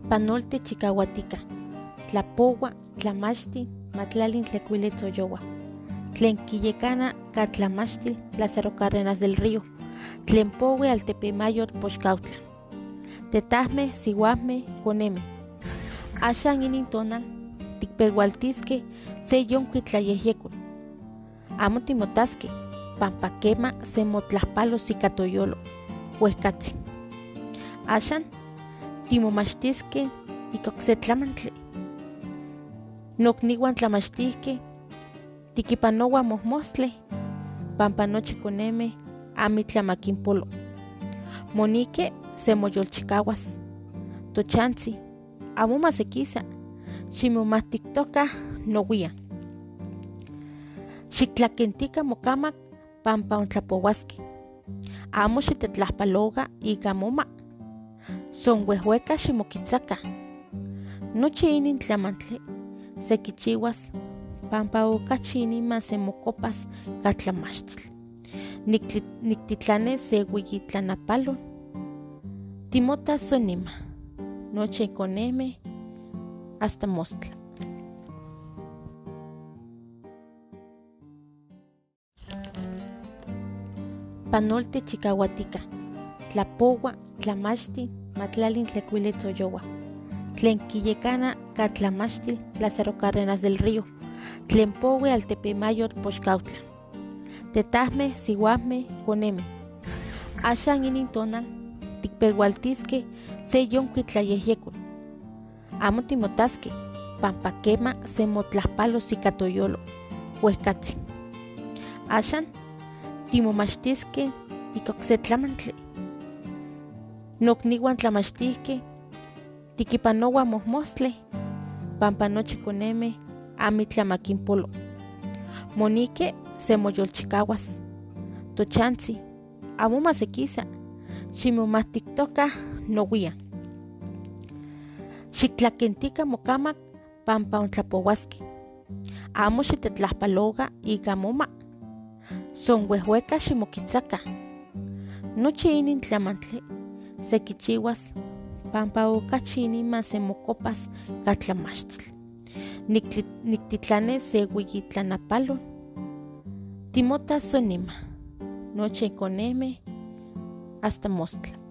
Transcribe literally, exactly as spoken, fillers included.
Panolte chikahuatica, tlapoua, tlamachtin, matlalin tlecuili tzoyoua, tlen quiyecana catlamachtil Lázaro Cárdenas del Río, tlen poue Altepemayotl Poxcautla, tetahmeh siuahmeh coneme. Axan inin tonal tikpeualtisqueh se yonki tlayehyekol. Amo timotasqueh, pampa quema semotlahpalos ika toyolo, uehcatzin. Axan timomachtisqueh ika okse tlamantli. Nokniuan tlamachtihqueh tikipanouah mohmostleh, pampa nochi konemeh amitla makinpolo. Monique semoyolchikauas. Tochantzi, amo masekisa, ximomahtiktokah nouian. Xiktlakentika mokamak pampa ontlapouaskeh. Amo xitetlahpaloga ika moma. Son uehueka ximokitzakah. Nochi inin tlamantli sekichiuas pampa okachi iniman semokopas katlamachtil. Niktitlane se ueyitlanapalon. Timota sonima. Noche coneme hasta mostla. Panolte chikahuatica, tlapoua, tlamachtin, matlalin tlecuili tzoyoua, tlen quiyecana catlamachtil Lázaro Cárdenas del Río, tlen poue Altepemayotl Poxcautla, tetahmeh siuahmeh coneme. Axan inin tonal tikpeualtisqueh se yonki tlayehyekol. Amo timotasqueh, pampa quema semotlahpalos ika toyolo, uehcatzin. Axan timomachtisqueh ika okse tlamantli. Nokniuan tlamachtihqueh tikipanouah mohmostleh, pampa nochi konemeh amitla makinpolo. Monique semoyolchikauas. Tochantzi, amo masekisa, ximomahtiktokah nouian. Xiktlakentika mokamak pampa ontlapouaskeh. Amo xitetlahpaloga ika moma. Son uehueka ximokitzakah. Nochi inin tlamantli sekichiuas pampa okachi iniman semokopas katlamachtil. Niktitlane se ueyitlanapalon. Timota sonima. Noche coneme hasta mostla.